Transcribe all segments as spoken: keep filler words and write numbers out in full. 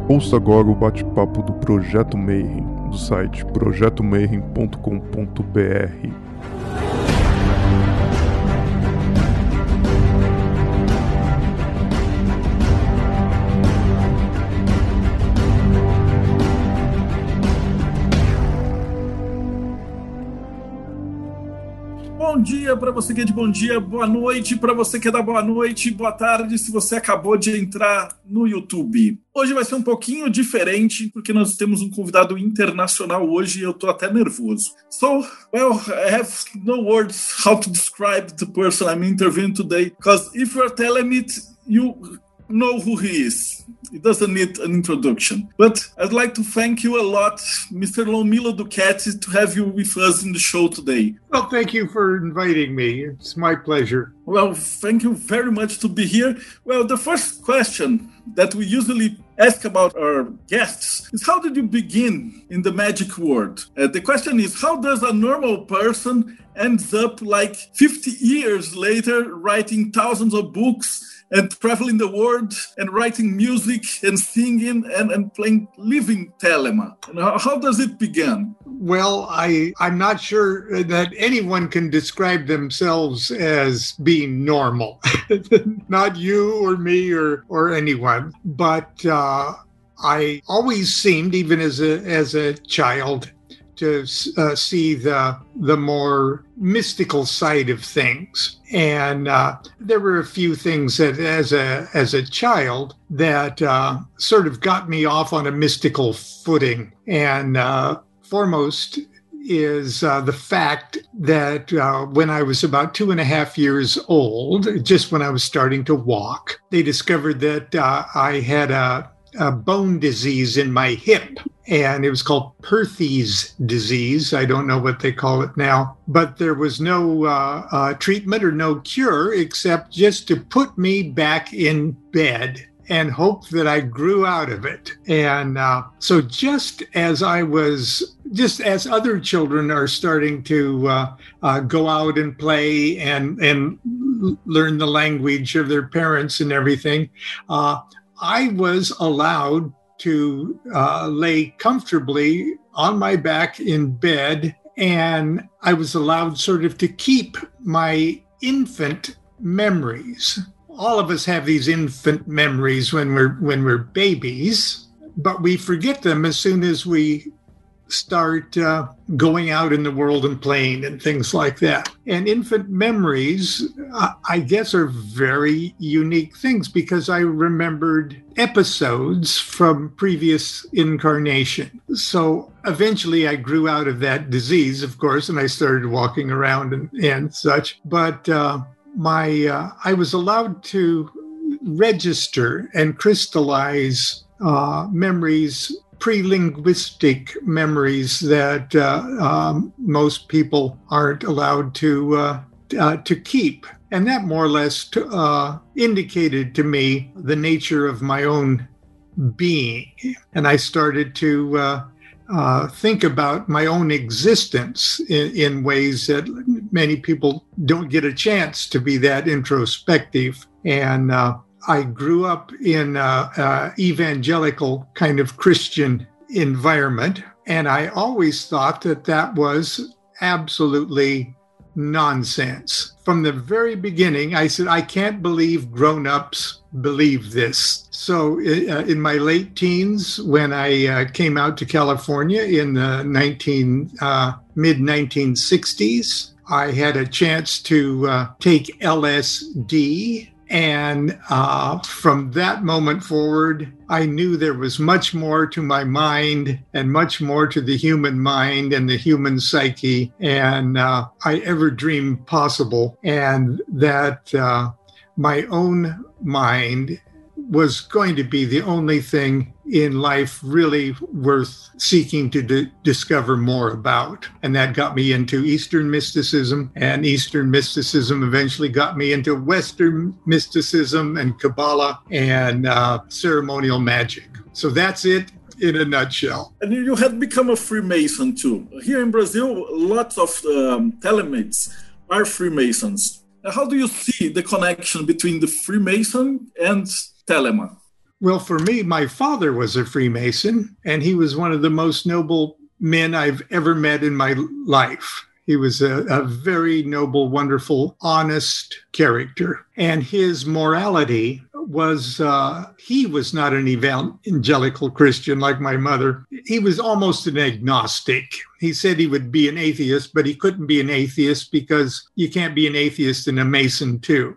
Ouça agora o bate-papo do Projeto Mayhem, do site projeto mayhem ponto com ponto b r. Bom dia para você que é de bom dia, boa noite para você que é da boa noite, boa tarde se você acabou de entrar no YouTube. Hoje vai ser um pouquinho diferente porque nós temos um convidado internacional hoje e eu tô até nervoso. So, well, I have no words how to describe the person I'm interviewing today, because if you're telling it, you know who he is. It doesn't need an introduction. But I'd like to thank you a lot, Mister Lomilo Ducati, to have you with us in the show today. Well, thank you for inviting me. It's my pleasure. Well, thank you very much to be here. Well, the first question that we usually ask about our guests is, how did you begin in the magic world? Uh, the question is, how does a normal person ends up like fifty years later writing thousands of books and traveling the world and writing music and singing and, and playing living Telema? And how, how does it begin? Well, I, I'm not sure that anyone can describe themselves as being normal. Not you or me or, or anyone. But uh, I always seemed, even as a as a child, to uh, see the the more mystical side of things. And uh, there were a few things that as a as a child that uh, sort of got me off on a mystical footing. And uh, foremost is uh, the fact that uh, when I was about two and a half years old, just when I was starting to walk, they discovered that uh, I had a, a bone disease in my hip. And it was called Perthes disease. I don't know what they call it now. But there was no uh, uh, treatment or no cure except just to put me back in bed and hope that I grew out of it. And uh, so just as I was, just as other children are starting to uh, uh, go out and play and, and learn the language of their parents and everything, uh, I was allowed to uh, lay comfortably on my back in bed, and I was allowed sort of to keep my infant memories. All of us have these infant memories when we're when we're babies, but we forget them as soon as we start uh, going out in the world and playing and things like that. And infant memories, uh, I guess, are very unique things because I remembered episodes from previous incarnation. So eventually I grew out of that disease, of course, and I started walking around and, and such. But uh, my uh, I was allowed to register and crystallize uh, memories, pre-linguistic memories that uh, um, most people aren't allowed to uh, uh, to keep. And that more or less t- uh, indicated to me the nature of my own being. And I started to uh, uh, think about my own existence in, in ways that many people don't get a chance to be that introspective. And uh, I grew up in an evangelical kind of Christian environment, and I always thought that that was absolutely nonsense. From the very beginning, I said, I can't believe grown-ups believe this. So uh, in my late teens, when I uh, came out to California in the nineteen, uh, mid nineteen sixties, I had a chance to uh, take L S D. And uh, from that moment forward, I knew there was much more to my mind and much more to the human mind and the human psyche and uh, I ever dreamed possible. And that uh, my own mind was going to be the only thing in life really worth seeking to d- discover more about. And that got me into Eastern mysticism, and Eastern mysticism eventually got me into Western mysticism and Kabbalah and uh, ceremonial magic. So that's it in a nutshell. And you had become a Freemason too. Here in Brazil, lots of um, telemates are Freemasons. How do you see the connection between the Freemason and Telema? Well, for me, my father was a Freemason, and he was one of the most noble men I've ever met in my life. He was a, a very noble, wonderful, honest character. And his morality was, uh, he was not an evangelical Christian like my mother. He was almost an agnostic. He said he would be an atheist, but he couldn't be an atheist because you can't be an atheist and a Mason too.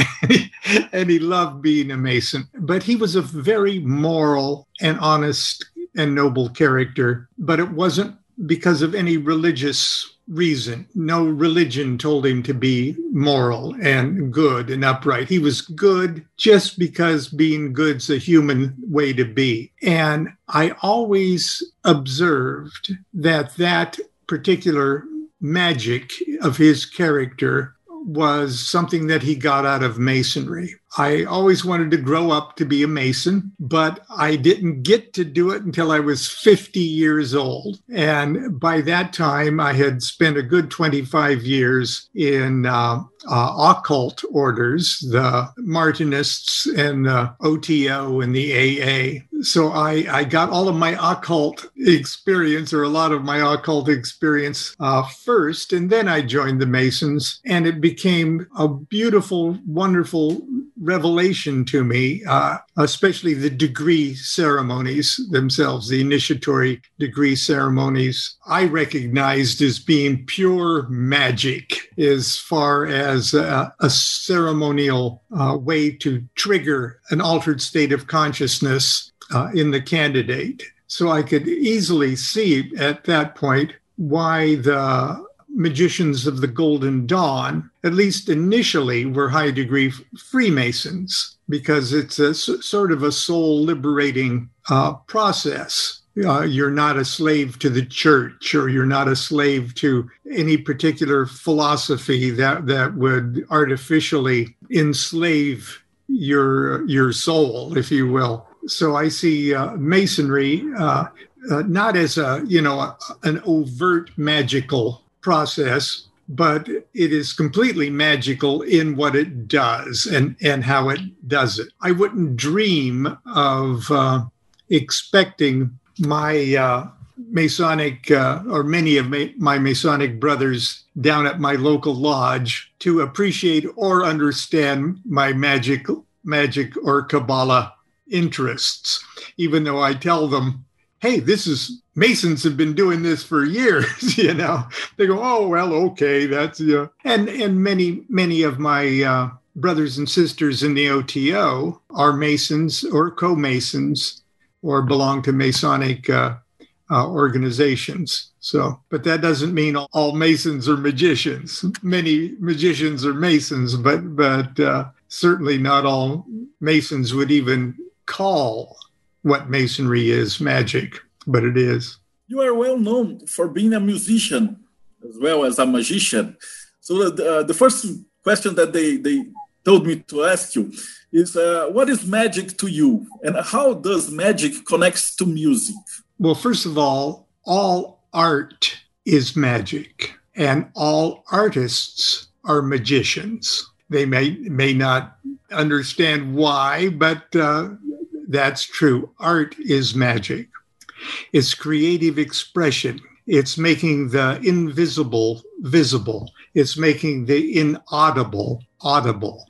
And he loved being a Mason. But he was a very moral and honest and noble character, but it wasn't because of any religious reason. No religion told him to be moral and good and upright. He was good just because being good's a human way to be. And I always observed that that particular magic of his character was something that he got out of Masonry. I always wanted to grow up to be a Mason, but I didn't get to do it until I was fifty years old. And by that time, I had spent a good twenty-five years in uh, uh, occult orders, the Martinists and the O T O and the A A. So I, I got all of my occult experience, or a lot of my occult experience uh, first, and then I joined the Masons, and it became a beautiful, wonderful revelation to me, uh, especially the degree ceremonies themselves, the initiatory degree ceremonies, I recognized as being pure magic as far as a, a ceremonial uh, way to trigger an altered state of consciousness uh, in the candidate. So I could easily see at that point why the magicians of the Golden Dawn, at least initially, were high degree Freemasons, because it's a sort of a soul liberating uh, process. Uh, you're not a slave to the church, or you're not a slave to any particular philosophy that, that would artificially enslave your, your soul, if you will. So I see uh, Masonry uh, uh, not as a, you know, a, an overt magical process, but it is completely magical in what it does and, and how it does it. I wouldn't dream of uh, expecting my uh, Masonic uh, or many of my, my Masonic brothers down at my local lodge to appreciate or understand my magic, magic or Kabbalah interests, even though I tell them, hey, this is, Masons have been doing this for years, you know. They go, oh, well, okay, that's, yeah. And, and many, many of my uh, brothers and sisters in the O T O are Masons or co-Masons or belong to Masonic uh, uh, organizations. So, but that doesn't mean all Masons are magicians. Many magicians are Masons, but, but uh, certainly not all Masons would even call what Masonry is magic, but it is. You are well known for being a musician as well as a magician. So the, uh, the first question that they, they told me to ask you is, uh, what is magic to you? And how does magic connect to music? Well, first of all, all art is magic, and all artists are magicians. They may, may not understand why, but uh, that's true. Art is magic. It's creative expression. It's making the invisible visible. It's making the inaudible audible.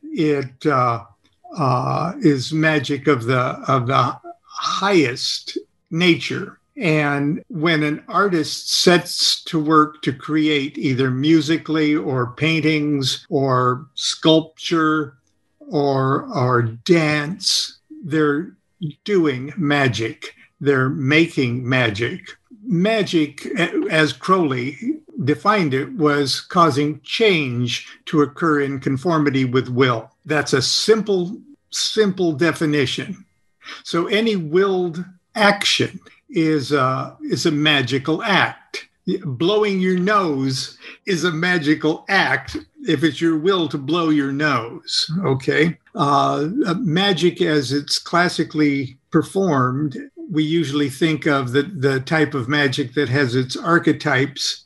It uh, uh, is magic of the of the highest nature. And when an artist sets to work to create either musically or paintings or sculpture or or dance, they're doing magic. They're making magic. Magic, as Crowley defined it, was causing change to occur in conformity with will. That's a simple, simple definition. So any willed action is a, is a magical act. Blowing your nose is a magical act if it's your will to blow your nose, okay? Uh, magic, as it's classically performed, we usually think of the, the type of magic that has its archetypes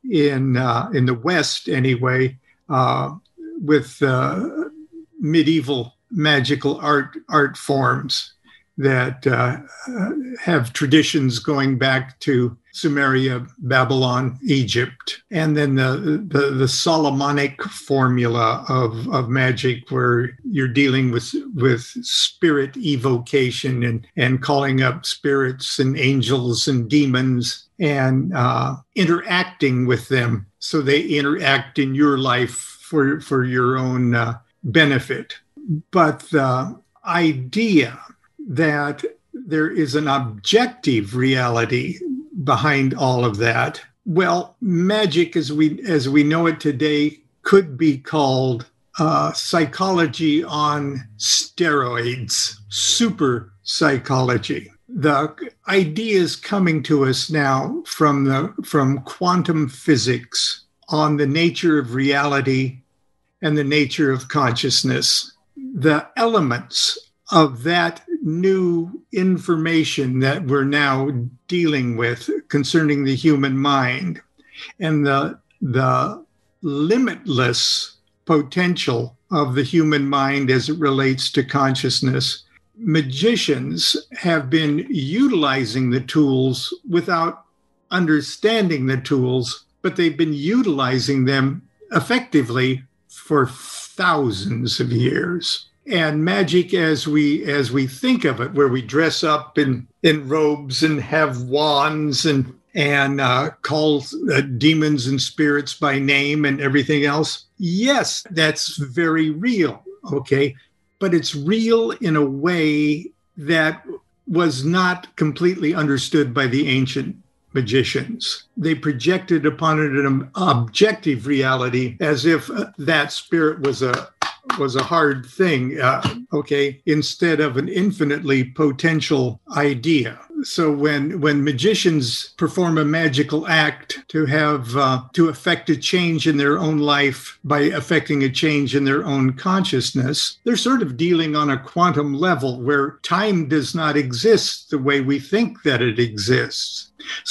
in uh, in the West anyway, uh, with uh, medieval magical art art forms. that uh, have traditions going back to Sumeria, Babylon, Egypt, and then the, the, the Solomonic formula of, of magic, where you're dealing with, with spirit evocation and, and calling up spirits and angels and demons and uh, interacting with them so they interact in your life for, for your own uh, benefit. But the idea that there is an objective reality behind all of that, well, magic as we as we know it today could be called uh, psychology on steroids, super psychology. The ideas coming to us now from the from quantum physics on the nature of reality and the nature of consciousness, the elements of that new information that we're now dealing with concerning the human mind and the, the limitless potential of the human mind as it relates to consciousness. Magicians have been utilizing the tools without understanding the tools, but they've been utilizing them effectively for thousands of years. And magic, as we as we think of it, where we dress up in, in robes and have wands and and uh, call uh, demons and spirits by name and everything else, yes, that's very real, okay? But it's real in a way that was not completely understood by the ancient magicians. They projected upon it an objective reality as if that spirit was a was a hard thing, uh, okay, instead of an infinitely potential idea. So when when magicians perform a magical act to have uh, to affect a change in their own life by affecting a change in their own consciousness, they're sort of dealing on a quantum level where time does not exist the way we think that it exists.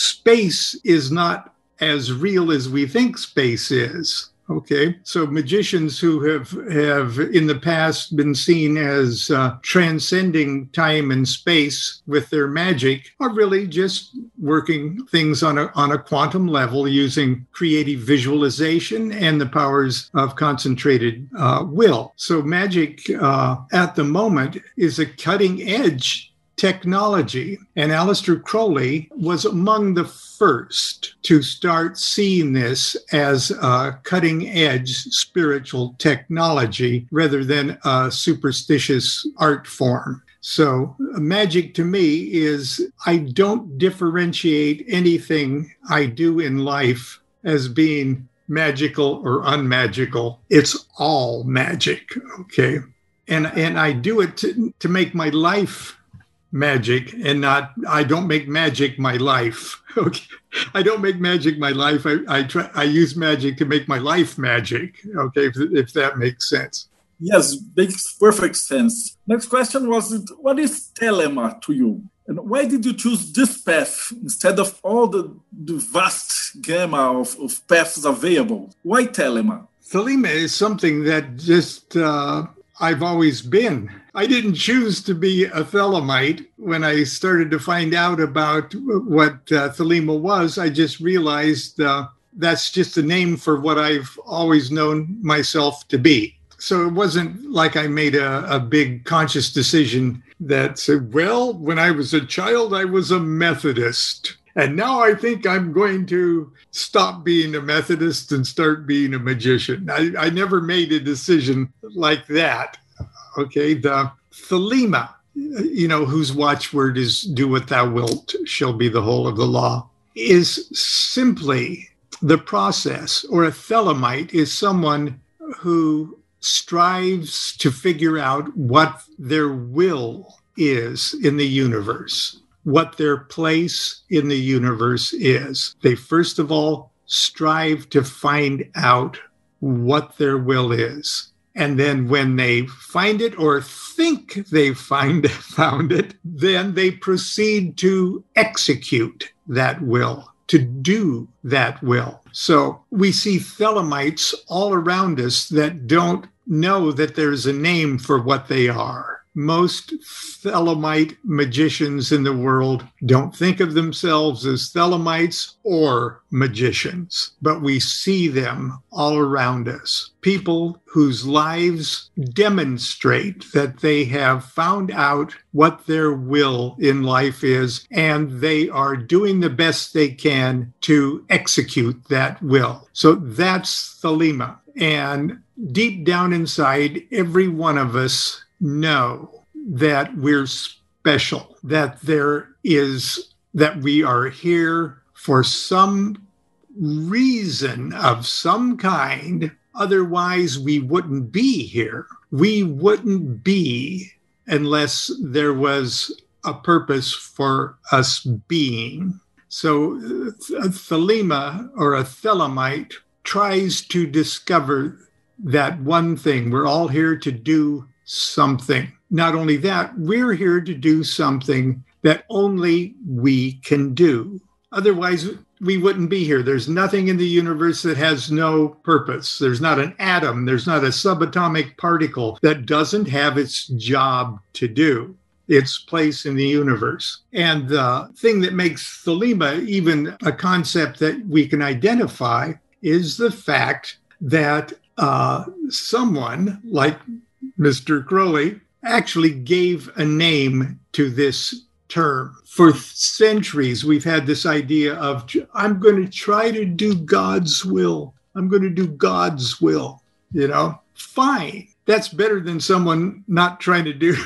Space is not as real as we think space is. Okay, so magicians who have, have in the past been seen as uh, transcending time and space with their magic are really just working things on a, on a quantum level using creative visualization and the powers of concentrated uh, will. So magic uh, at the moment is a cutting edge technology. And Aleister Crowley was among the first to start seeing this as a cutting-edge spiritual technology rather than a superstitious art form. So magic to me is, I don't differentiate anything I do in life as being magical or unmagical. It's all magic, okay? And, and I do it to, to make my life magic and not, I don't make magic my life. Okay. I don't make magic my life. I, I try, I use magic to make my life magic. Okay. If, if that makes sense. Yes, makes perfect sense. Next question was, what is Thelema to you? And why did you choose this path instead of all the, the vast gamma of, of paths available? Why Thelema? Thelema is something that just, uh, I've always been. I didn't choose to be a Thelemite. When I started to find out about what uh, Thelema was, I just realized uh, that's just a name for what I've always known myself to be. So it wasn't like I made a, a big conscious decision that said, well, when I was a child, I was a Methodist. And now I think I'm going to stop being a Methodist and start being a magician. I, I never made a decision like that. Okay, the Thelema, you know, whose watchword is do what thou wilt shall be the whole of the law, is simply the process, or a Thelemite is someone who strives to figure out what their will is in the universe, what their place in the universe is. They first of all strive to find out what their will is. And then when they find it or think they find found it, then they proceed to execute that will, to do that will. So we see Thelemites all around us that don't know that there's a name for what they are. most Thelemite magicians in the world don't think of themselves as Thelemites or magicians, but we see them all around us. People whose lives demonstrate that they have found out what their will in life is, and they are doing the best they can to execute that will. So that's Thelema. And deep down inside, every one of us know that we're special, that there is, that we are here for some reason of some kind. Otherwise, we wouldn't be here. We wouldn't be unless there was a purpose for us being. So a Thelema or a Thelemite tries to discover that one thing. We're all here to do something. Not only that, we're here to do something that only we can do. Otherwise, we wouldn't be here. There's nothing in the universe that has no purpose. There's not an atom. There's not a subatomic particle that doesn't have its job to do, its place in the universe. And the thing that makes Thelema even a concept that we can identify is the fact that uh, someone like Mister Crowley actually gave a name to this term. For centuries, we've had this idea of, I'm going to try to do God's will. I'm going to do God's will. You know, fine. That's better than someone not trying to do,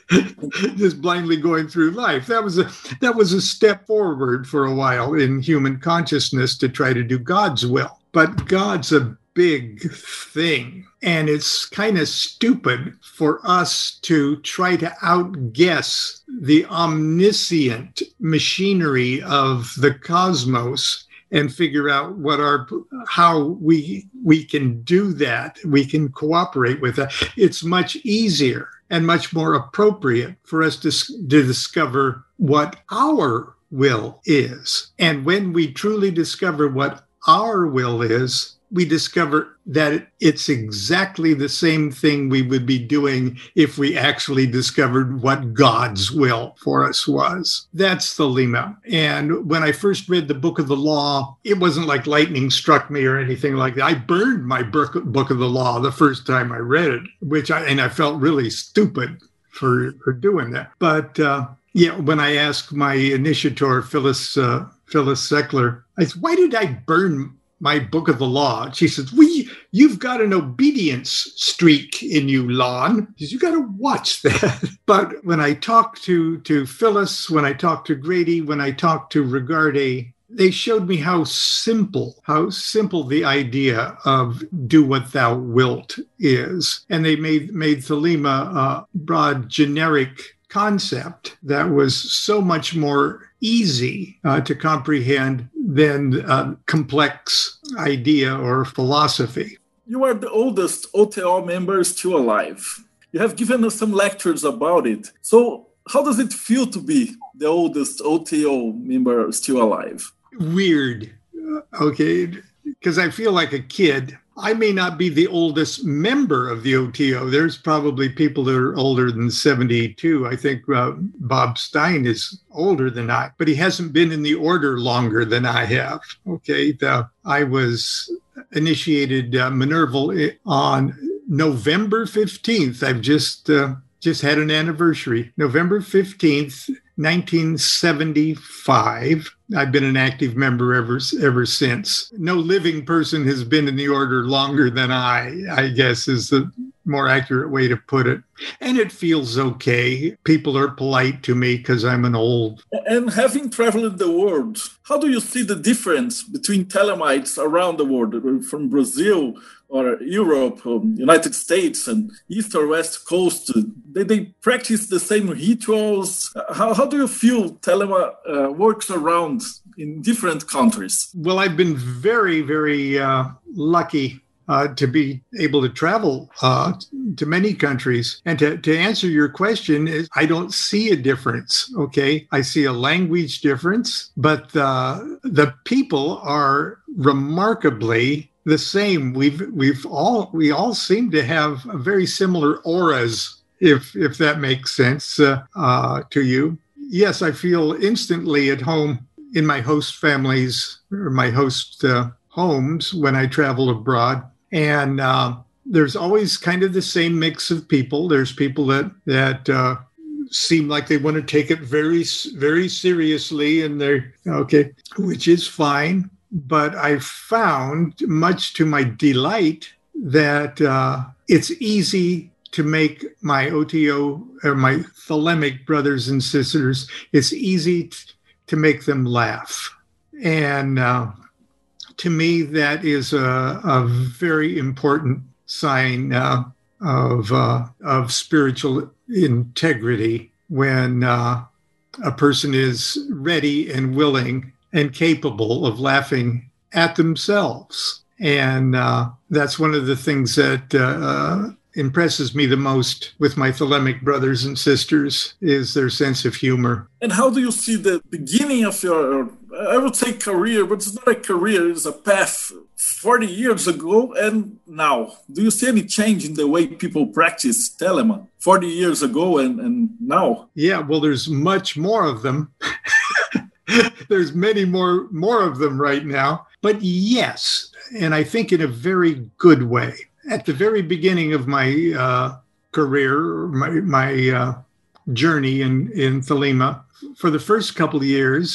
just blindly going through life. That was a that was a step forward for a while in human consciousness to try to do God's will. But God's a big thing, and it's kind of stupid for us to try to outguess the omniscient machinery of the cosmos and figure out what our how we we can do that. We can cooperate with that. It's much easier and much more appropriate for us to, to discover what our will is. And when we truly discover what our will is, we discover that it's exactly the same thing we would be doing if we actually discovered what God's will for us was. That's Thelema. And when I first read the Book of the Law, it wasn't like lightning struck me or anything like that. I burned my book, book of the Law the first time I read it, which I, and I felt really stupid for, for doing that. But uh, yeah, when I asked my initiator, Phyllis, uh, Phyllis Seckler, I said, why did I burn my book of the law? She says, we, you've got an obedience streak in you, Lon. She says, you got to watch that. But when I talked to, to Phyllis, when I talked to Grady, when I talked to Regarde, they showed me how simple, how simple the idea of do what thou wilt is. And they made, made Thelema a broad, generic concept that was so much more easy uh, to comprehend than a complex idea or philosophy. You are the oldest O T O member still alive. You have given us some lectures about it. So how does it feel to be the oldest O T O member still alive? Weird, okay, because I feel like a kid. I may not be the oldest member of the O T O. There's probably people that are older than seventy-two. I think uh, Bob Stein is older than I, but he hasn't been in the order longer than I have. Okay, the, I was initiated uh, Minerval on November fifteenth. I've just uh, just had an anniversary. November fifteenth, nineteen seventy-five. I've been an active member ever ever since. No living person has been in the order longer than I, I guess is the more accurate way to put it. And it feels okay. People are polite to me because I'm an old. And having traveled the world, how do you see the difference between Thelemites around the world, from Brazil or Europe, or United States, and East or West Coast? They, they practice the same rituals. How, how do you feel Thelema uh, works around in different countries? Well, I've been very, very uh, lucky uh, to be able to travel uh, to many countries. And to, to answer your question, is I don't see a difference, okay? I see a language difference, but uh, the people are remarkably the same. We've we've all we all seem to have very similar auras if if that makes sense uh, uh, to you. Yes, I feel instantly at home in my host families or my host uh, homes when I travel abroad. And uh, there's always kind of the same mix of people. There's people that, that uh, seem like they want to take it very, very seriously, and they're okay, which is fine. But I found, much to my delight, that uh, it's easy to make my O T O or my thelemic brothers and sisters, it's easy t- to make them laugh. And uh, to me, that is a, a very important sign uh, of uh, of spiritual integrity when uh, a person is ready and willing and capable of laughing at themselves. And uh, that's one of the things that uh, impresses me the most with my thelemic brothers and sisters is their sense of humor. And how do you see the beginning of your, I would say career, but it's not a career, it's a path, forty years ago and now? Do you see any change in the way people practice Telemann forty years ago and, and now? Yeah, well, there's much more of them. There's many more, more of them right now. But yes, and I think in a very good way. At the very beginning of my uh, career, my, my uh, journey in, in Thelema, for the first couple of years,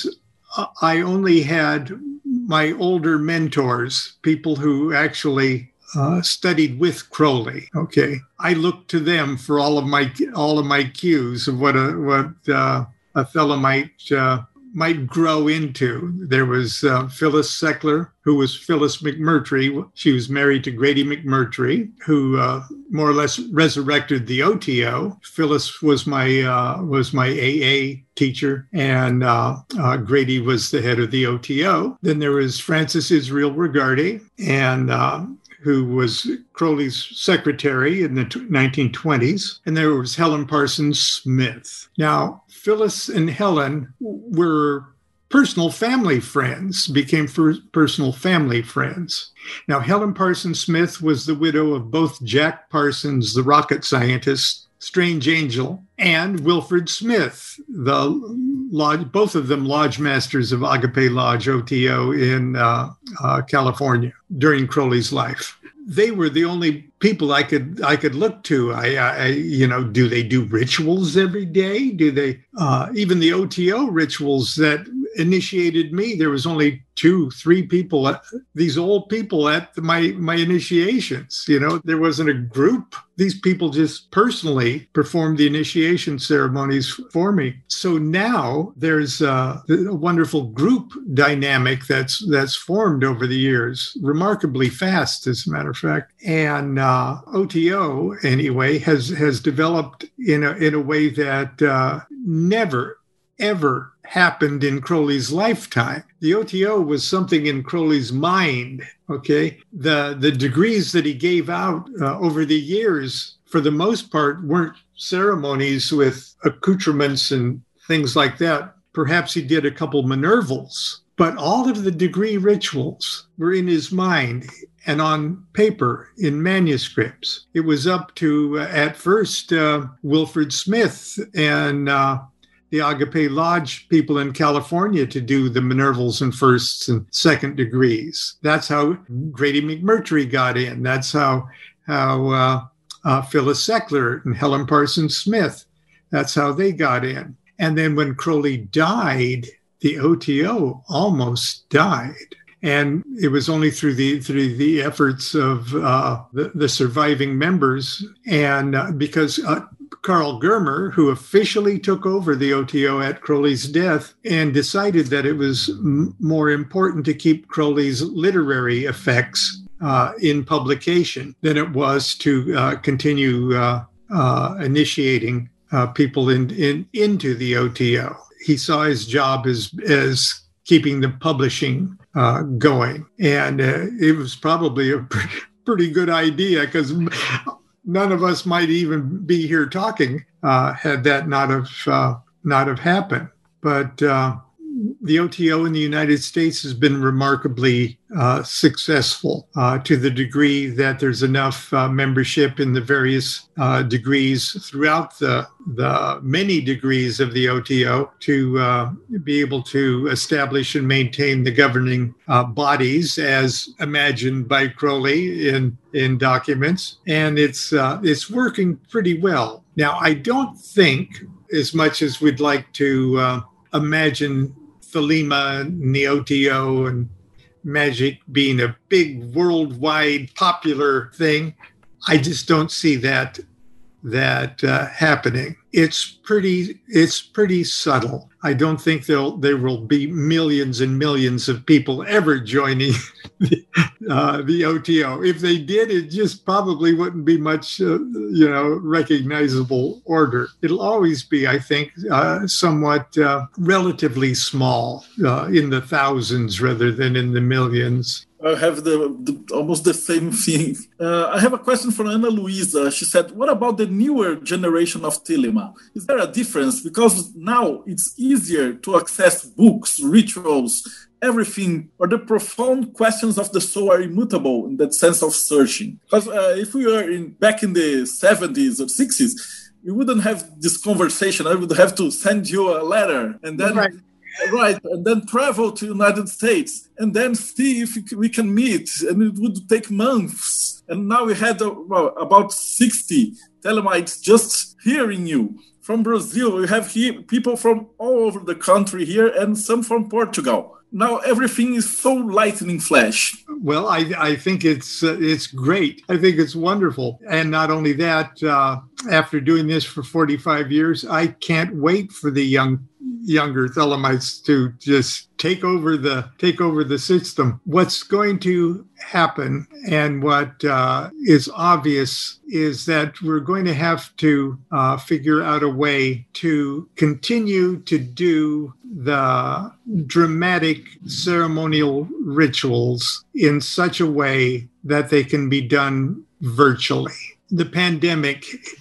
I only had my older mentors, people who actually uh, studied with Crowley. Okay, I looked to them for all of my all of my cues of what a what uh, a Thelemite uh, might grow into. There was uh, Phyllis Seckler, who was Phyllis McMurtry. She was married to Grady McMurtry, who uh, more or less resurrected the O T O. Phyllis was my uh, was my A A teacher, and uh, uh, Grady was the head of the O T O. Then there was Francis Israel Regardi, and uh, who was Crowley's secretary in the nineteen twenties. And there was Helen Parsons Smith. Now, Phyllis and Helen were personal family friends, became personal family friends. Now, Helen Parsons Smith was the widow of both Jack Parsons, the rocket scientist, Strange Angel, and Wilfred Smith, the lodge, both of them lodge masters of Agape Lodge O T O in uh, uh, California during Crowley's life. They were the only people I could I could look to. I, I you know, do they do rituals every day? Do they uh, even the O T O rituals that initiated me? There was only two, three people, these old people at my my initiations. You know, there wasn't a group. These people just personally performed the initiation ceremonies for me. So now there's a, a wonderful group dynamic that's that's formed over the years, remarkably fast, as a matter of fact. And uh, O T O, anyway, has has developed in a in a way that uh, never, ever happened in Crowley's lifetime. The O T O was something in Crowley's mind, okay? The the degrees that he gave out uh, over the years, for the most part, weren't ceremonies with accoutrements and things like that. Perhaps he did a couple Minervals, but all of the degree rituals were in his mind and on paper in manuscripts. It was up to, uh, at first, uh, Wilfred Smith and uh, the Agape Lodge people in California to do the Minervals and firsts and second degrees. That's how Grady McMurtry got in. That's how how uh, uh, Phyllis Seckler and Helen Parsons Smith, that's how they got in. And then when Crowley died, the O T O almost died. And it was only through the through the efforts of uh, the, the surviving members, and uh, because uh, Carl Germer, who officially took over the O T O at Crowley's death, and decided that it was m- more important to keep Crowley's literary effects uh, in publication than it was to uh, continue uh, uh, initiating uh, people in, in into the O T O. He saw his job as as keeping the publishing uh, going. And uh, it was probably a pretty, pretty good idea, because none of us might even be here talking uh, had that not have uh, not have happened. But uh, the O T O in the United States has been remarkably uh, successful uh, to the degree that there's enough uh, membership in the various uh, degrees throughout the the many degrees of the O T O to uh, be able to establish and maintain the governing uh, bodies as imagined by Crowley in in documents, and it's uh, it's working pretty well. Now, I don't think, as much as we'd like to uh, imagine Thelema and the O T O and magic being a big worldwide popular thing, I just don't see that that uh, happening. It's pretty it's pretty subtle. I don't think there'll there will be millions and millions of people ever joining the, uh, the O T O. If they did, it just probably wouldn't be much, uh, you know, recognizable order. It'll always be, I think, uh, somewhat uh, relatively small, uh, in the thousands rather than in the millions. I have the, the almost the same thing. Uh, I have a question from Ana Luisa. She said, what about the newer generation of Thelema? Is there a difference? Because now it's easier to access books, rituals, everything, or the profound questions of the soul are immutable in that sense of searching. Because uh, if we were in, back in the seventies or sixties, we wouldn't have this conversation. I would have to send you a letter and then... Right. Right, and then travel to United States and then see if we can meet, and it would take months. And now we had uh, well, about sixty Thelemites just hearing you. From Brazil, we have here people from all over the country here and some from Portugal. Now everything is so lightning flash. Well, I, I think it's uh, it's great. I think it's wonderful. And not only that, uh, after doing this for forty-five years, I can't wait for the young younger Thelemites to just take over the take over the system. What's going to happen, and what uh, is obvious, is that we're going to have to uh, figure out a way to continue to do the dramatic ceremonial rituals in such a way that they can be done virtually. The pandemic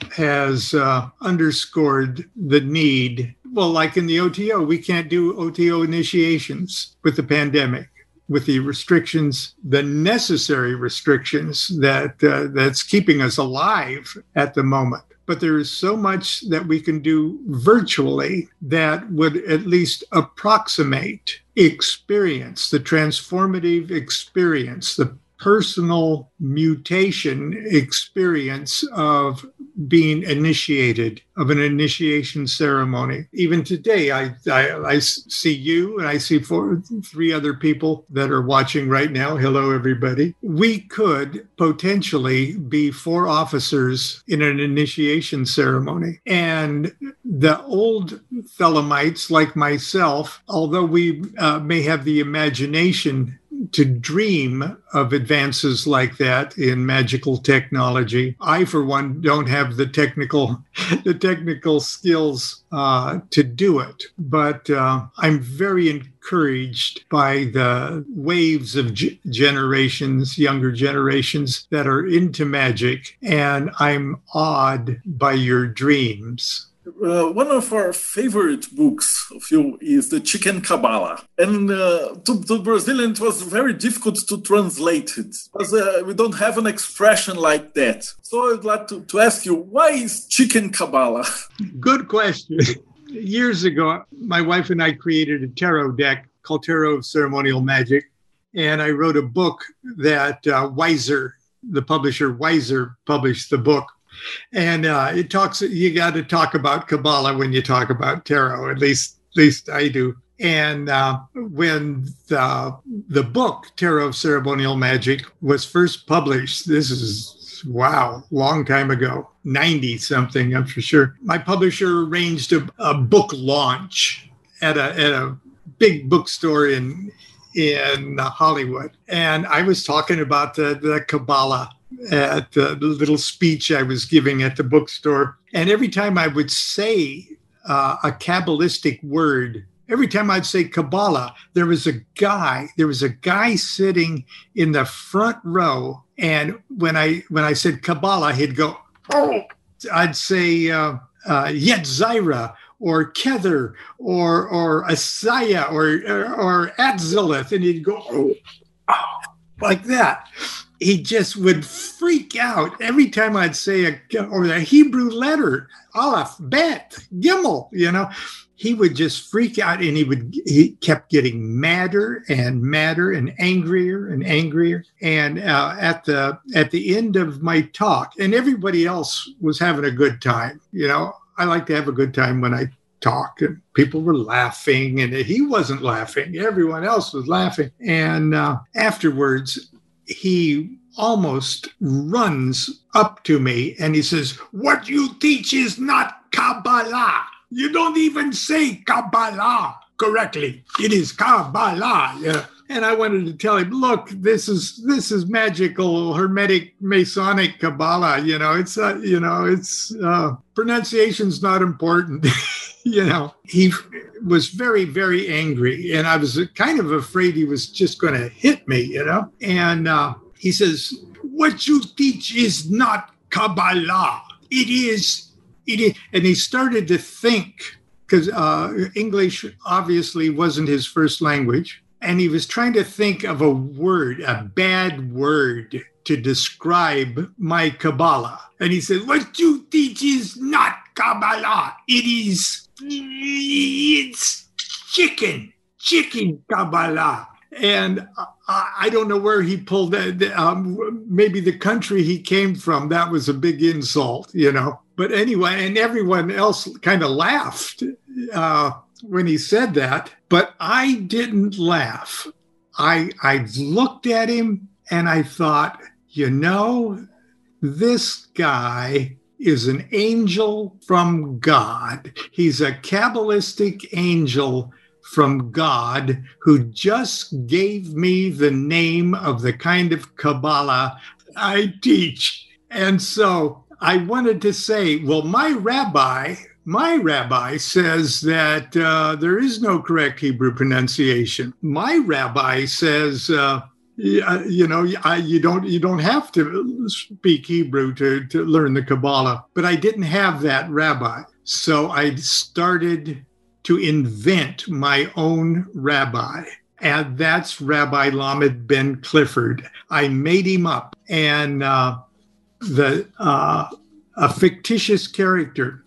has uh, underscored the need. Well, like in the O T O, we can't do O T O initiations with the pandemic, with the restrictions, the necessary restrictions that uh, that's keeping us alive at the moment. But there is so much that we can do virtually that would at least approximate experience, the transformative experience, the personal mutation experience of being initiated, of an initiation ceremony. Even today, I, I, I see you and I see four, three other people that are watching right now. Hello, everybody. We could potentially be four officers in an initiation ceremony. And the old Thelemites like myself, although we uh, may have the imagination to dream of advances like that in magical technology, I, for one, don't have the technical the technical skills uh, to do it. But uh, I'm very encouraged by the waves of g- generations, younger generations that are into magic, and I'm awed by your dreams. Uh, one of our favorite books of you is The Chicken Kabbalah. And uh, to, to Brazilian, it was very difficult to translate it because uh, we don't have an expression like that. So I'd like to, to ask you, why is Chicken Kabbalah? Good question. Years ago, my wife and I created a tarot deck called Tarot of Ceremonial Magic. And I wrote a book that uh, Weiser, the publisher Weiser, published the book. And uh, it talks, you got to talk about Kabbalah when you talk about tarot, at least, at least I do. And uh, when the, the book, Tarot of Ceremonial Magic, was first published, this is, wow, long time ago, ninety something, I'm for sure. My publisher arranged a, a book launch at a, at a big bookstore in, in Hollywood. And I was talking about the, the Kabbalah at the little speech I was giving at the bookstore. And every time I would say uh, a Kabbalistic word, every time I'd say Kabbalah, there was a guy, there was a guy sitting in the front row. And when I when I said Kabbalah, he'd go, oh, I'd say uh, uh, Yetzirah or Kether or or Asaya or or, or Atzilith, and he'd go oh, oh, like that. He just would freak out every time I'd say a or the Hebrew letter, Aleph, Bet, Gimel, you know. He would just freak out, and he would he kept getting madder and madder and angrier and angrier. And uh, at the at the end of my talk, and everybody else was having a good time. You know, I like to have a good time when I talk, and people were laughing, and he wasn't laughing. Everyone else was laughing. And uh, afterwards, he almost runs up to me, and he says, "What you teach is not Kabbalah. You don't even say Kabbalah correctly. It is Kabbalah." Yeah. And I wanted to tell him, look, this is this is magical, Hermetic, Masonic Kabbalah. You know, it's uh, you know, it's uh, pronunciation's not important. You know, he was very, very angry, and I was kind of afraid he was just going to hit me. You know, and uh, he says, "What you teach is not Kabbalah. It is." It is, and he started to think, because uh, English obviously wasn't his first language, and he was trying to think of a word, a bad word to describe my Kabbalah. And he said, "What you teach is not Kabbalah. It is, it's chicken, chicken Kabbalah." And I, I don't know where he pulled that. Um, maybe the country he came from, that was a big insult, you know. But anyway, and everyone else kind of laughed uh, when he said that. But I didn't laugh. I I looked at him and I thought, you know, this guy is an angel from God. He's a Kabbalistic angel from God who just gave me the name of the kind of Kabbalah I teach. And so I wanted to say, well, my rabbi, my rabbi says that uh, there is no correct Hebrew pronunciation. My rabbi says, uh, you know, I, you don't you don't have to speak Hebrew to, to learn the Kabbalah. But I didn't have that rabbi. So I started to invent my own rabbi. And that's Rabbi Lamed Ben Clifford. I made him up. And uh, the uh, a fictitious character.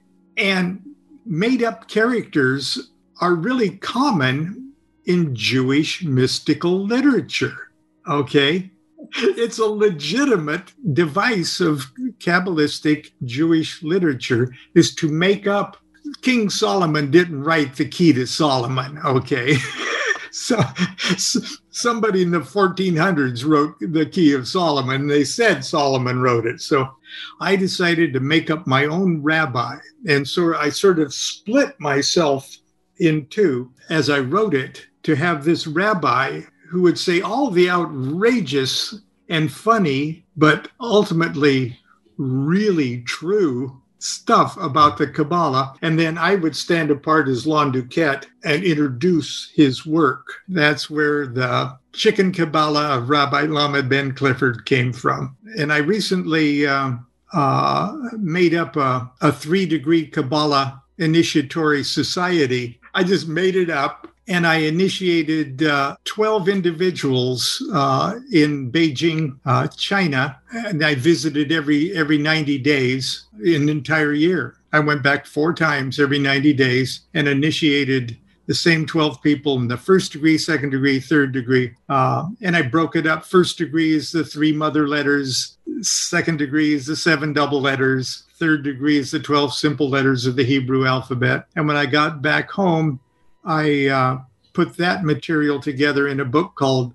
And made-up characters are really common in Jewish mystical literature, okay? It's a legitimate device of Kabbalistic Jewish literature is to make up. King Solomon didn't write the Key to Solomon, okay? So, so somebody in the fourteen hundreds wrote the Key of Solomon. They said Solomon wrote it. So I decided to make up my own rabbi. And so I sort of split myself in two as I wrote it to have this rabbi who would say all the outrageous and funny, but ultimately really true stuff about the Kabbalah, and then I would stand apart as Lon Duquette and introduce his work. That's where the Chicken Kabbalah of Rabbi Lamed Ben Clifford came from. And I recently uh, uh, made up a, a three-degree Kabbalah initiatory society. I just made it up, and I initiated uh, twelve individuals uh, in Beijing, uh, China, and I visited every every ninety days, an entire year. I went back four times every ninety days and initiated the same twelve people in the first degree, second degree, third degree. Uh, and I broke it up. First degree is the three mother letters. Second degree is the seven double letters. Third degree is the twelve simple letters of the Hebrew alphabet. And when I got back home, I uh, put that material together in a book called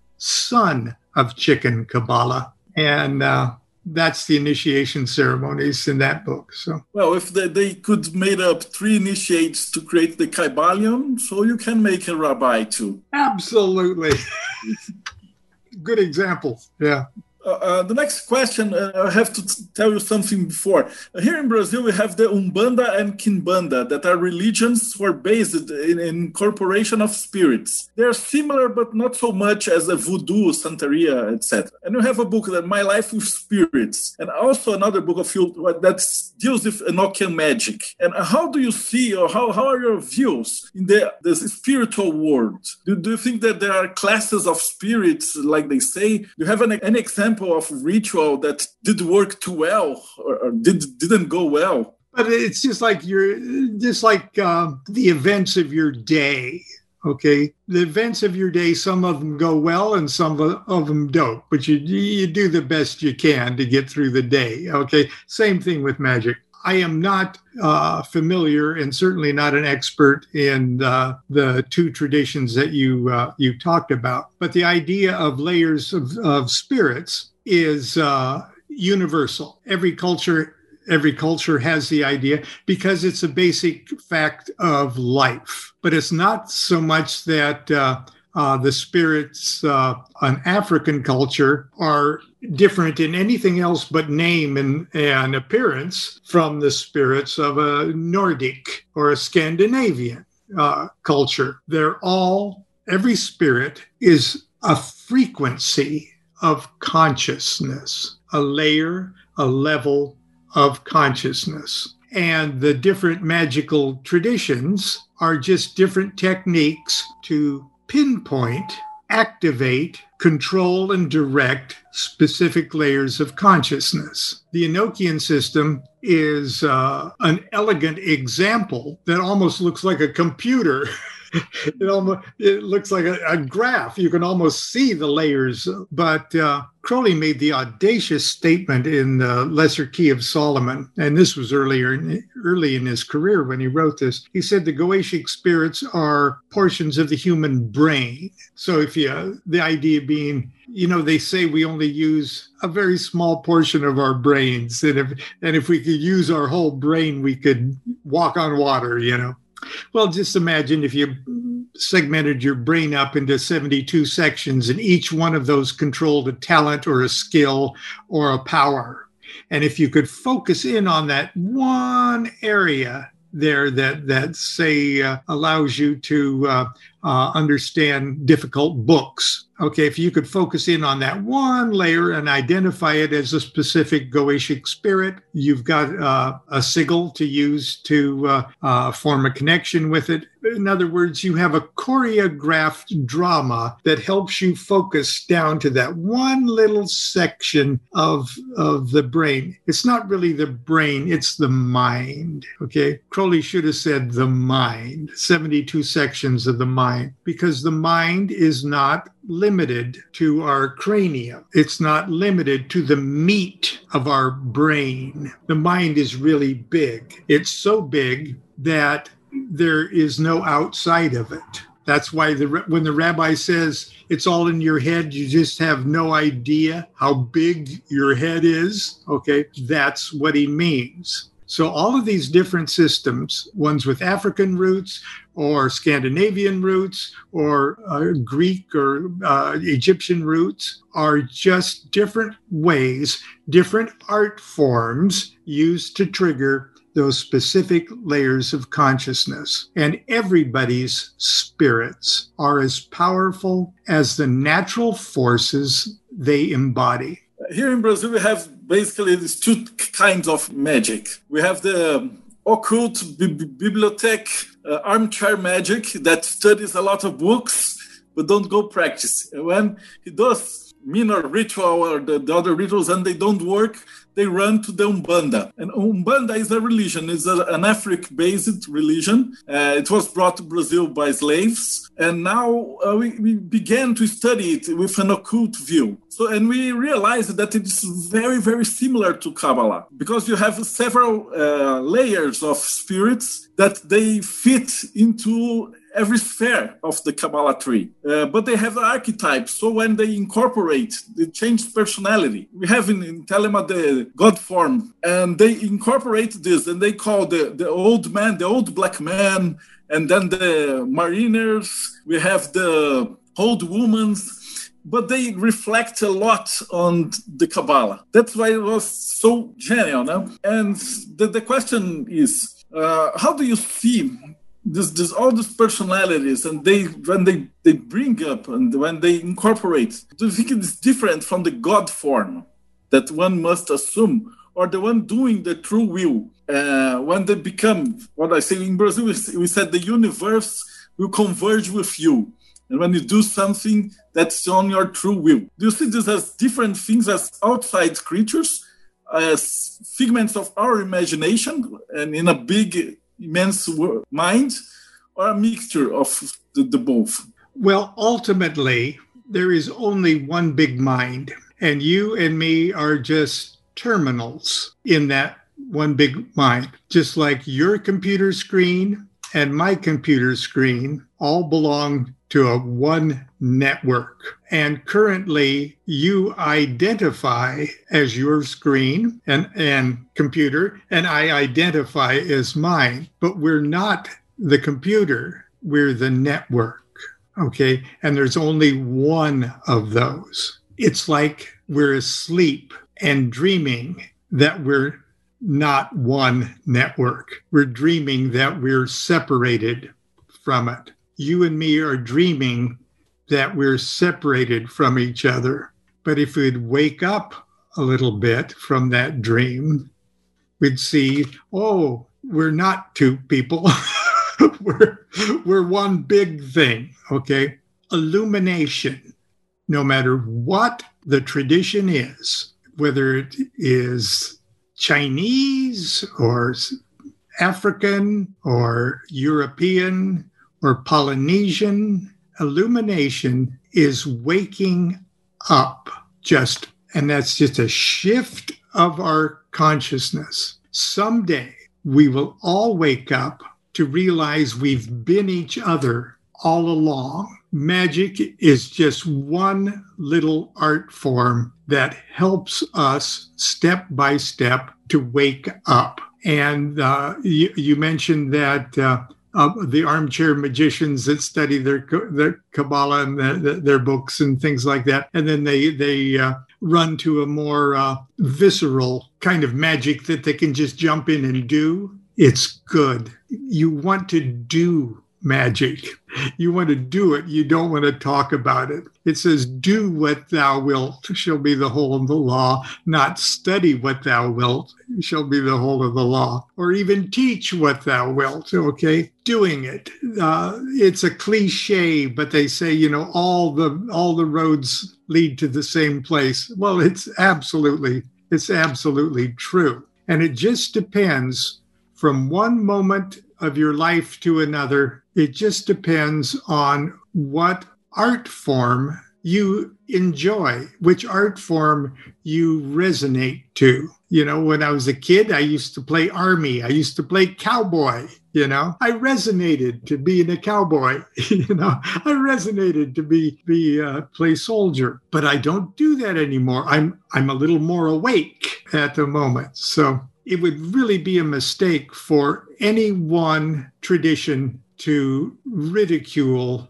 Son of Chicken Kabbalah. And uh, that's the initiation ceremonies in that book. So, well, if they, they could made up three initiates to create the Kabbalion, so you can make a rabbi too. Absolutely. Good example. Yeah. Uh, uh, the next question, uh, I have to t- tell you something before. Uh, here in Brazil, we have the Umbanda and Quimbanda, that are religions who are based in, in incorporation of spirits. They are similar, but not so much as the Voodoo, Santeria, et cetera. And you have a book that My Life with Spirits, and also another book of you that deals with Enochian magic. And how do you see, or how, how are your views in the, the spiritual world? Do, do you think that there are classes of spirits, like they say? Do you have an, an example of ritual that did work too well or, or did, didn't go well? But it's just like you're just like uh, the events of your day. Okay, the events of your day, some of them go well and some of them don't, but you you do the best you can to get through the day. Okay, same thing with magic. I am not uh, familiar and certainly not an expert in uh, the two traditions that you uh, you talked about. But the idea of layers of, of spirits is uh, universal. Every culture, every culture has the idea because it's a basic fact of life. But it's not so much that uh, uh, the spirits uh, on African culture are different in anything else but name and, and appearance from the spirits of a Nordic or a Scandinavian uh, culture. They're all, every spirit is a frequency of consciousness, a layer, a level of consciousness. And the different magical traditions are just different techniques to pinpoint, activate, control, and direct specific layers of consciousness. The Enochian system is uh, an elegant example that almost looks like a computer. It almost it looks like a, a graph. You can almost see the layers. But uh, Crowley made the audacious statement in the Lesser Key of Solomon, and this was earlier, early in his career when he wrote this. He said the Goetic spirits are portions of the human brain. So if you, the idea being, you know, they say we only use a very small portion of our brains, and if and if we could use our whole brain, we could walk on water, you know. Well, just imagine if you segmented your brain up into seventy-two sections, and each one of those controlled a talent or a skill or a power. And if you could focus in on that one area there that, that say, uh, allows you to uh, uh, understand difficult books. Okay, if you could focus in on that one layer and identify it as a specific Goetic spirit, you've got uh, a sigil to use to uh, uh, form a connection with it. In other words, you have a choreographed drama that helps you focus down to that one little section of, of the brain. It's not really the brain, it's the mind. Okay, Crowley should have said the mind, seventy-two sections of the mind, because the mind is not limited to our cranium. It's not limited to the meat of our brain. The mind is really big. It's so big that there is no outside of it. That's why the, when the rabbi says it's all in your head, you just have no idea how big your head is. Okay, that's what he means. So all of these different systems, ones with African roots or Scandinavian roots or uh, Greek or uh, Egyptian roots, are just different ways, different art forms used to trigger those specific layers of consciousness. And everybody's spirits are as powerful as the natural forces they embody. Here in Brazil, we have basically these two kinds of magic. We have the occult bi- bibliothèque uh, armchair magic that studies a lot of books but don't go practice. When he does minor ritual or the, the other rituals and they don't work, they run to the Umbanda. And Umbanda is a religion. It's a, an African-based religion. Uh, it was brought to Brazil by slaves. And now uh, we, we began to study it with an occult view. So, and we realized that it's very, very similar to Kabbalah, because you have several uh, layers of spirits that they fit into every sphere of the Kabbalah tree. Uh, but they have archetypes, so when they incorporate, they change personality. We have in, in Telema the God form, and they incorporate this, and they call the, the old man, the old black man, and then the mariners, we have the old woman, but they reflect a lot on the Kabbalah. That's why it was so genial. No? And the, the question is, uh, how do you see this, this all these personalities, and they when they, they bring up and when they incorporate, do you think it's different from the God form that one must assume, or the one doing the true will? Uh, when they become, what I say in Brazil, we said the universe will converge with you. And when you do something that's on your true will. Do you see this as different things, as outside creatures, as figments of our imagination and in a big, immense mind, or a mixture of the, the both? Well, ultimately, there is only one big mind, and you and me are just terminals in that one big mind. Just like your computer screen and my computer screen all belong to a one network. And currently you identify as your screen and, and computer, and I identify as mine, but we're not the computer, we're the network, okay? And there's only one of those. It's like we're asleep and dreaming that we're not one network. We're dreaming that we're separated from it. You and me are dreaming that we're separated from each other. But if we'd wake up a little bit from that dream, we'd see, oh, we're not two people. we're, we're one big thing, okay? Illumination, no matter what the tradition is, whether it is Chinese or African or European or Polynesian, illumination is waking up just, and that's just a shift of our consciousness. Someday we will all wake up to realize we've been each other all along. Magic is just one little art form that helps us step by step to wake up. And uh, you, you mentioned that uh, uh, the armchair magicians that study their their Kabbalah and the, the, their books and things like that, and then they they uh, run to a more uh, visceral kind of magic that they can just jump in and do. It's good. You want to do magic. You want to do it. You don't want to talk about it. It says, do what thou wilt shall be the whole of the law, not study what thou wilt shall be the whole of the law, or even teach what thou wilt, okay? Doing it. Uh, it's a cliche, but they say, you know, all the all the roads lead to the same place. Well, it's absolutely, it's absolutely true. And it just depends from one moment of your life to another. It just depends on what art form you enjoy, which art form you resonate to. You know, when I was a kid, I used to play army. I used to play cowboy, you know. I resonated to being a cowboy, you know. I resonated to be, be uh, play soldier. But I don't do that anymore. I'm I'm a little more awake at the moment. So it would really be a mistake for any one tradition to ridicule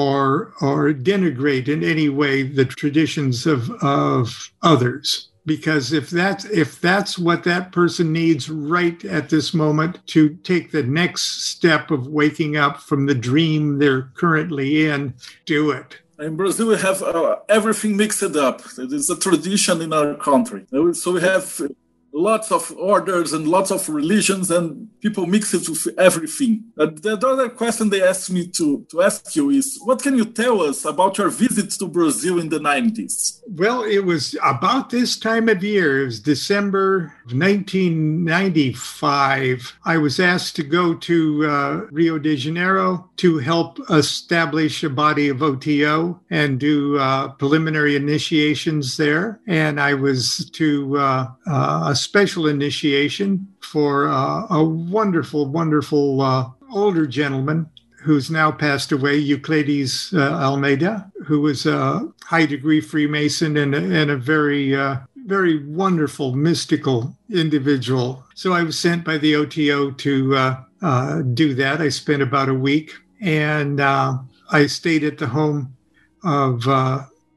or or denigrate in any way the traditions of of others. Because if that's if that's what that person needs right at this moment to take the next step of waking up from the dream they're currently in, do it. In Brazil, we have uh, everything mixed up. It is a tradition in our country. So we have lots of orders and lots of religions, and people mix it with everything. Uh, the other question they asked me to, to ask you is, what can you tell us about your visit to Brazil in the nineties? Well, it was about this time of year. It was December of nineteen ninety-five. I was asked to go to uh, Rio de Janeiro to help establish a body of O T O and do uh, preliminary initiations there. And I was to uh, uh, special initiation for uh, a wonderful, wonderful uh, older gentleman who's now passed away, Euclides uh, Almeida, who was a high-degree Freemason and a, and a very, uh, very wonderful, mystical individual. So I was sent by the O T O to uh, uh, do that. I spent about a week, and uh, I stayed at the home of uh,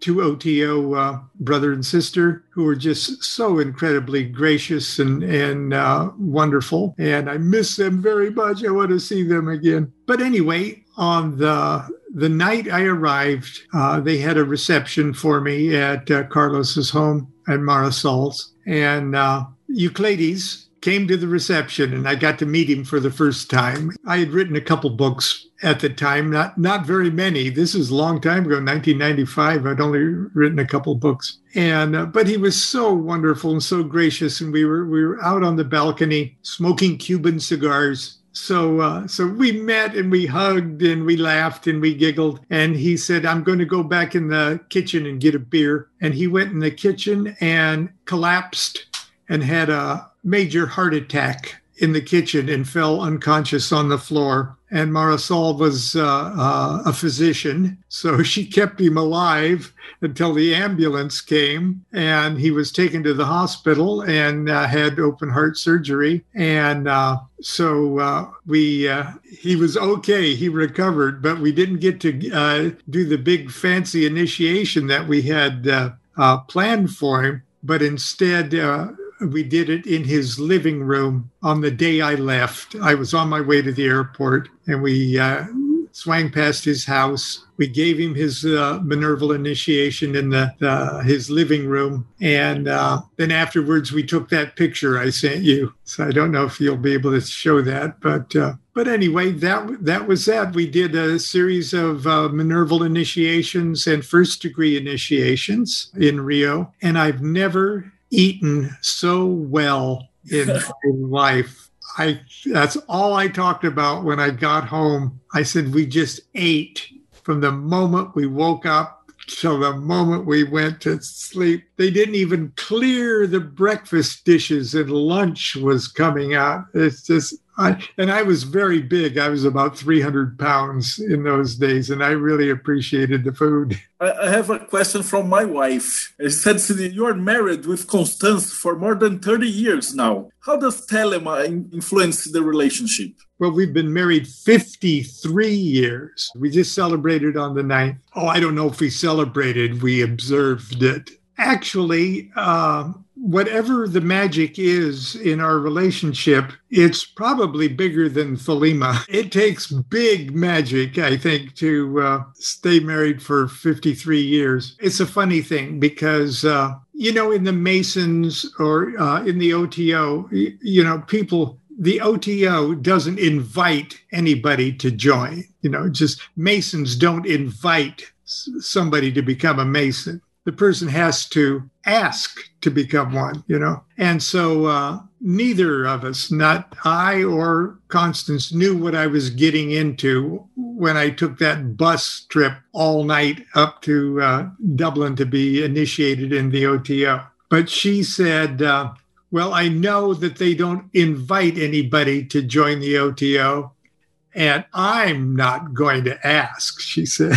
two O T O uh, brother and sister who were just so incredibly gracious and, and uh, wonderful. And I miss them very much. I want to see them again. But anyway, on the the night I arrived, uh, they had a reception for me at uh, Carlos's home at Marisol's. And uh, Euclides came to the reception, and I got to meet him for the first time. I had written a couple books at the time, not not very many. This is a long time ago, nineteen ninety-five. I'd only written a couple books, and uh, but he was so wonderful and so gracious. And we were we were out on the balcony smoking Cuban cigars. So uh, so we met and we hugged and we laughed and we giggled. And he said, "I'm going to go back in the kitchen and get a beer." And he went in the kitchen and collapsed and had a major heart attack in the kitchen and fell unconscious on the floor. And Marisol was uh, uh, a physician, so she kept him alive until the ambulance came, and he was taken to the hospital and uh, had open heart surgery. And uh, so uh, we uh, he was okay, he recovered, but we didn't get to uh, do the big fancy initiation that we had uh, uh, planned for him, but instead uh, we did it in his living room on the day I left. I was on my way to the airport, and we uh, swang past his house. We gave him his uh, Minerval initiation in the, the his living room. And uh, then afterwards, we took that picture I sent you. So I don't know if you'll be able to show that. But uh, but anyway, that that was that. We did a series of uh, Minerval initiations and first-degree initiations in Rio. And I've never eaten so well in my life. I that's all I talked about when I got home. I said we just ate from the moment we woke up till the moment we went to sleep. They didn't even clear the breakfast dishes and lunch was coming out. It's just I, and I was very big. I was about three hundred pounds in those days, and I really appreciated the food. I have a question from my wife. She said, you are married with Constance for more than thirty years now. How does Telema influence the relationship? Well, we've been married fifty-three years. We just celebrated on the ninth. Oh, I don't know if we celebrated. We observed it. Actually, uh, whatever the magic is in our relationship, it's probably bigger than Thelema. It takes big magic, I think, to uh, stay married for fifty-three years. It's a funny thing because, uh, you know, in the Masons or uh, in the O T O, you know, people... The O T O doesn't invite anybody to join. You know, just Masons don't invite somebody to become a Mason. The person has to ask to become one, you know. And so uh, neither of us, not I or Constance, knew what I was getting into when I took that bus trip all night up to uh, Dublin to be initiated in the O T O. But she said... Uh, Well, I know that they don't invite anybody to join the O T O, and I'm not going to ask, she said.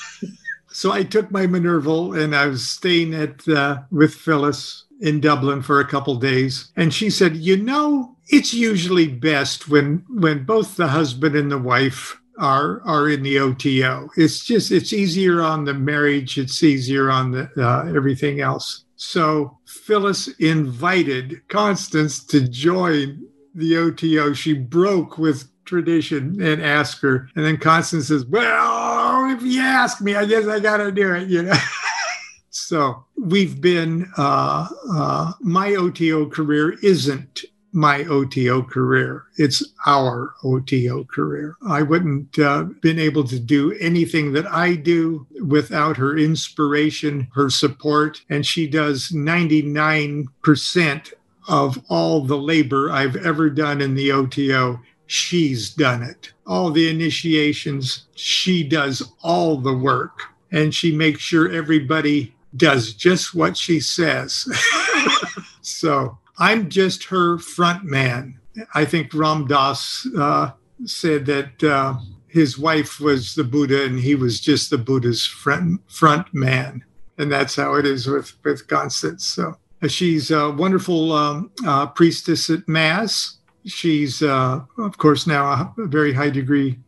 So I took my Minerval, and I was staying at uh, with Phyllis in Dublin for a couple days. And she said, you know, it's usually best when when both the husband and the wife are are in the O T O. It's just, it's easier on the marriage. It's easier on the uh, everything else. So Phyllis invited Constance to join the O T O. She broke with tradition and asked her. And then Constance says, well, if you ask me, I guess I got to do it, you know. So we've been, uh, uh, my O T O career isn't my O T O career. It's our O T O career. I wouldn't uh, been able to do anything that I do without her inspiration, her support, and she does ninety-nine percent of all the labor I've ever done in the O T O. She's done it. All the initiations, she does all the work, and she makes sure everybody does just what she says. So I'm just her front man. I think Ram Dass uh, said that uh, his wife was the Buddha and he was just the Buddha's front, front man. And that's how it is with, with Constance. So uh, she's a wonderful um, uh, priestess at Mass. She's, uh, of course, now a very high degree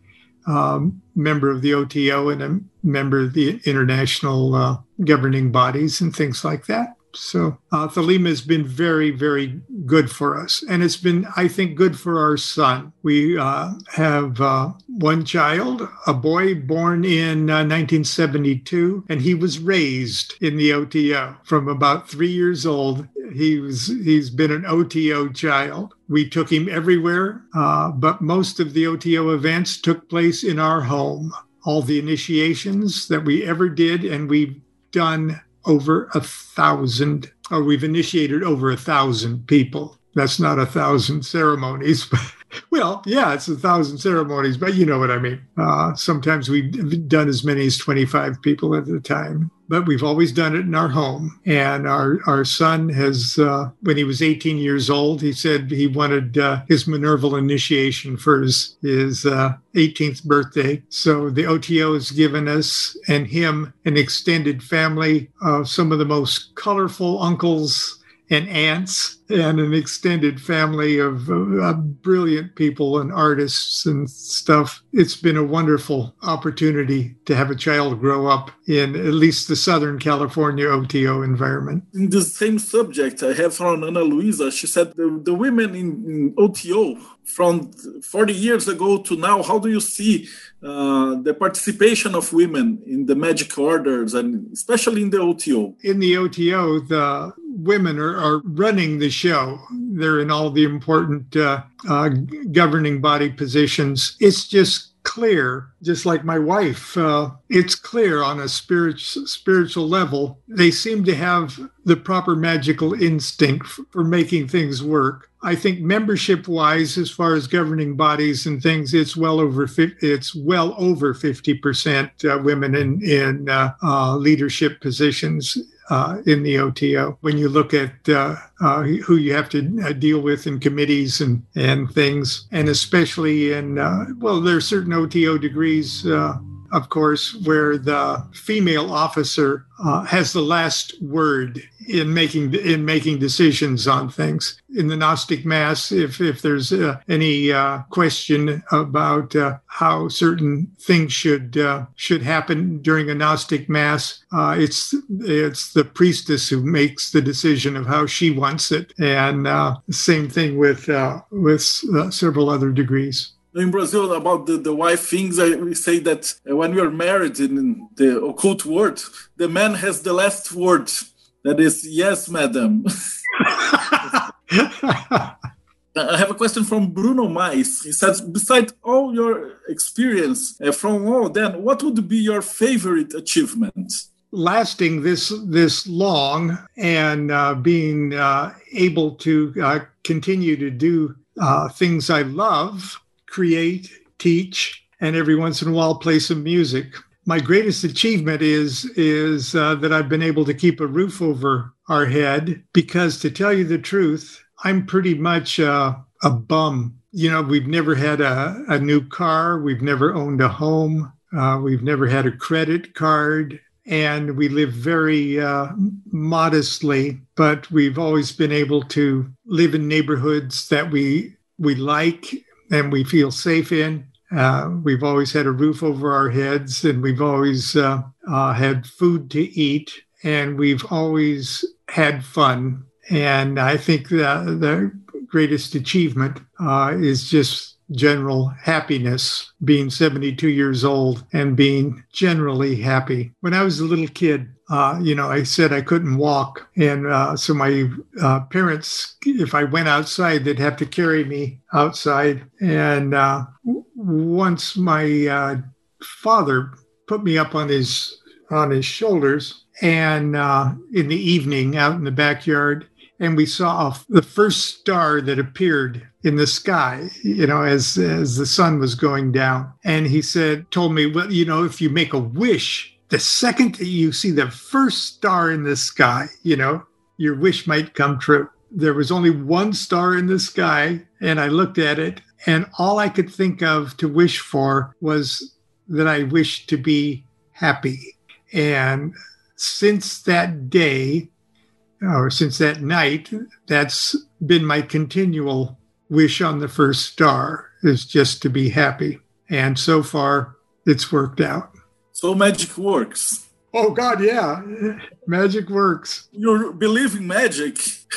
um, member of the O T O and a member of the international uh, governing bodies and things like that. So uh, Thelema has been very, very good for us. And it's been, I think, good for our son. We uh, have uh, one child, a boy born in uh, nineteen seventy-two, and he was raised in the O T O. From about three years old, he was, he's been an O T O child. We took him everywhere, uh, but most of the O T O events took place in our home. All the initiations that we ever did, and we've done over a thousand, or we've initiated over a thousand people. That's not a thousand ceremonies. Well, yeah, it's a thousand ceremonies, but you know what I mean. Uh, sometimes we've done as many as twenty-five people at a time, but we've always done it in our home. And our, our son has, uh, when he was eighteen years old, he said he wanted uh, his Minerval initiation for his, his uh, eighteenth birthday. So the O T O has given us and him an extended family of some of the most colorful uncles and aunts, and an extended family of uh, brilliant people and artists and stuff. It's been a wonderful opportunity to have a child grow up in at least the Southern California O T O environment. In the same subject, I have from Ana Luisa. She said the, the women in, in O T O from forty years ago to now, how do you see uh, the participation of women in the magic orders, and especially in the O T O? In the O T O, the women are, are running the show. They're in all the important uh, uh, governing body positions. It's just clear, just like my wife, uh, it's clear on a spirit, spiritual level. They seem to have the proper magical instinct for, for making things work. I think membership-wise, as far as governing bodies and things, it's well over it's well over fifty percent uh, women in in uh, uh, leadership positions uh, in the O T O. When you look at uh, uh, who you have to uh, deal with in committees and and things, and especially in uh, well, there are certain O T O degrees. Uh, Of course, where the female officer uh, has the last word in making in making decisions on things. In the Gnostic Mass, if if there's uh, any uh, question about uh, how certain things should uh, should happen during a Gnostic Mass, uh, it's it's the priestess who makes the decision of how she wants it. And uh, same thing with uh, with uh, several other degrees. In Brazil, about the, the wife things, I, we say that when we are married in the occult world, the man has the last word. That is, yes, madam. I have a question from Bruno Mais. He says, besides all your experience uh, from all then, what would be your favorite achievement? Lasting this this long and uh, being uh, able to uh, continue to do uh, things I love, create, teach, and every once in a while play some music. My greatest achievement is is uh, that I've been able to keep a roof over our head, because to tell you the truth, I'm pretty much uh, a bum. You know, we've never had a, a new car. We've never owned a home. Uh, we've never had a credit card. And we live very uh, modestly, but we've always been able to live in neighborhoods that we we like and we feel safe in. Uh, we've always had a roof over our heads, and we've always uh, uh, had food to eat, and we've always had fun. And I think that the greatest achievement uh, is just general happiness, being seventy-two years old and being generally happy. When I was a little kid, Uh, you know, I said I couldn't walk. And uh, so my uh, parents, if I went outside, they'd have to carry me outside. And uh, once my uh, father put me up on his on his shoulders, and uh, in the evening out in the backyard, and we saw the first star that appeared in the sky, you know, as as the sun was going down. And he said, told me, well, you know, if you make a wish, the second that you see the first star in the sky, you know, your wish might come true. There was only one star in the sky, and I looked at it, and all I could think of to wish for was that I wished to be happy. And since that day, or since that night, that's been my continual wish on the first star, is just to be happy. And so far, it's worked out. So magic works. Oh, God, yeah. Magic works. You believe in magic?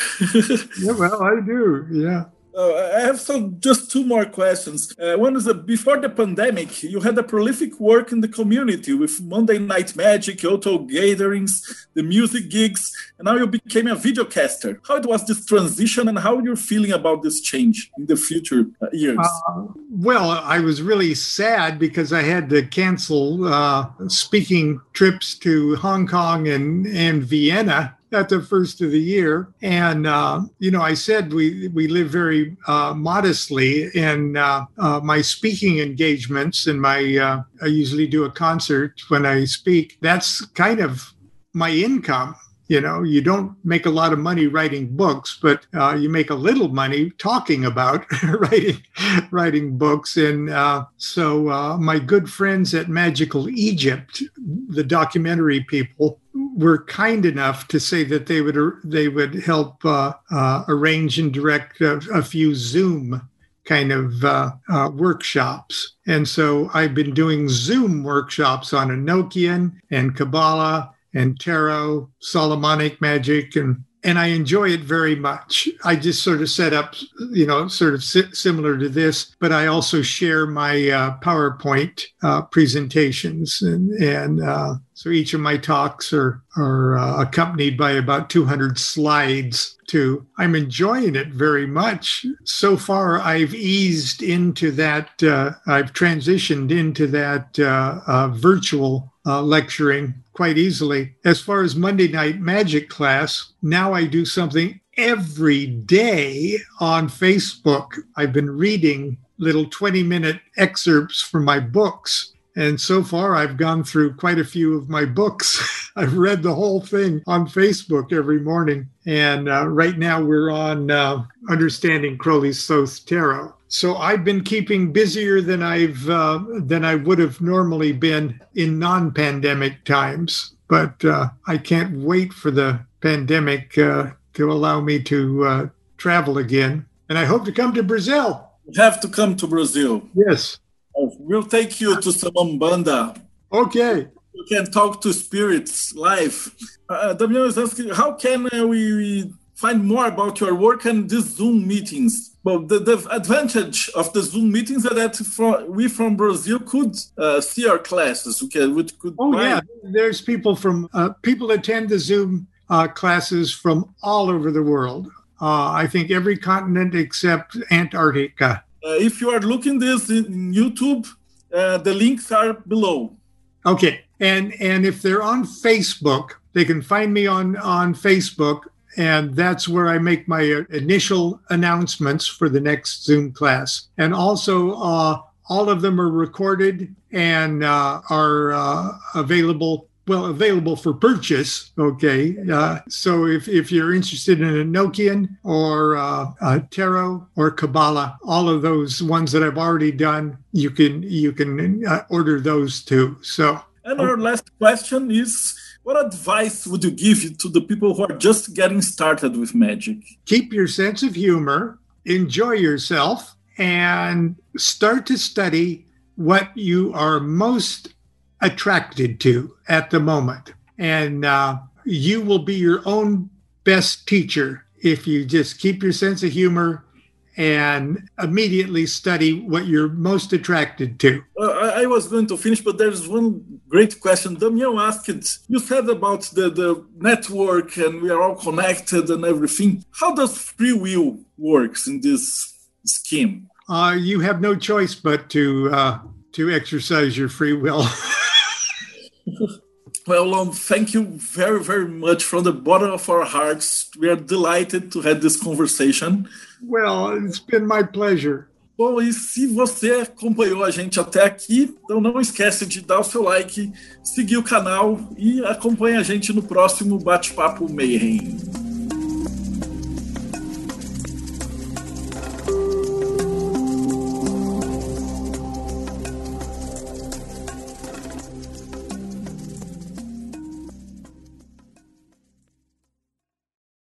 Yeah, well, I do, yeah. Uh, I have some just two more questions. Uh, one is that before the pandemic, you had a prolific work in the community with Monday Night Magic, Auto gatherings, the music gigs, and now you became a videocaster. How it was this transition and how you're feeling about this change in the future uh, years? Uh, well, I was really sad because I had to cancel uh, speaking trips to Hong Kong and, and Vienna at the first of the year. And, uh, you know, I said we, we live very uh, modestly, and uh, uh, my speaking engagements and my, uh, I usually do a concert when I speak. That's kind of my income. You know, you don't make a lot of money writing books, but uh, you make a little money talking about writing writing books. And uh, so uh, my good friends at Magical Egypt, the documentary people, were kind enough to say that they would they would help uh, uh, arrange and direct a, a few Zoom kind of uh, uh, workshops. And so I've been doing Zoom workshops on Enochian and Kabbalah and tarot, Solomonic magic, and and I enjoy it very much. I just sort of set up, you know, sort of si- similar to this, but I also share my uh, PowerPoint uh, presentations, and and uh, so each of my talks are are uh, accompanied by about two hundred slides too. I'm enjoying it very much. So far, I've eased into that. Uh, I've transitioned into that uh, uh, virtual uh, lecturing quite easily. As far as Monday Night Magic class, now I do something every day on Facebook. I've been reading little twenty-minute excerpts from my books. And so far, I've gone through quite a few of my books. I've read the whole thing on Facebook every morning. And uh, right now, we're on uh, Understanding Crowley's Thoth Tarot. So I've been keeping busier than I've uh, than I would have normally been in non-pandemic times. But uh, I can't wait for the pandemic uh, to allow me to uh, travel again. And I hope to come to Brazil. You have to come to Brazil. Yes. We'll take you to some Umbanda. Okay. You can talk to spirits live. Uh, Damian is asking, how can uh, we find more about your work and these Zoom meetings? Well, the, the advantage of the Zoom meetings is that for, we from Brazil could uh, see our classes. We could, we could oh, buy. yeah. There's people from, uh, people attend the Zoom uh, classes from all over the world. Uh, I think every continent except Antarctica. Uh, if you are looking this in YouTube, uh, the links are below. Okay. And and if they're on Facebook, they can find me on, on Facebook. And that's where I make my initial announcements for the next Zoom class. And also, uh, all of them are recorded and uh, are uh, available, well, available for purchase, okay? Uh, so if, if you're interested in Enochian or uh, uh, Tarot or Kabbalah, all of those ones that I've already done, you can, you can uh, order those too, so. And our last question is, what advice would you give to the people who are just getting started with magic? Keep your sense of humor, enjoy yourself, and start to study what you are most attracted to at the moment. And uh, you will be your own best teacher if you just keep your sense of humor and immediately study what you're most attracted to. Uh, I, I was going to finish, but there's one great question. Damian asked, you said about the, the network and we are all connected and everything. How does free will works in this scheme? Uh, you have no choice but to uh, to exercise your free will. Well, Lon, thank you very, very much from the bottom of our hearts. We are delighted to have this conversation. Well, it's been my pleasure. Bom, e se você acompanhou a gente até aqui, então não esquece de dar o seu like, seguir o canal e acompanhe a gente no próximo Bate-Papo Mayhem.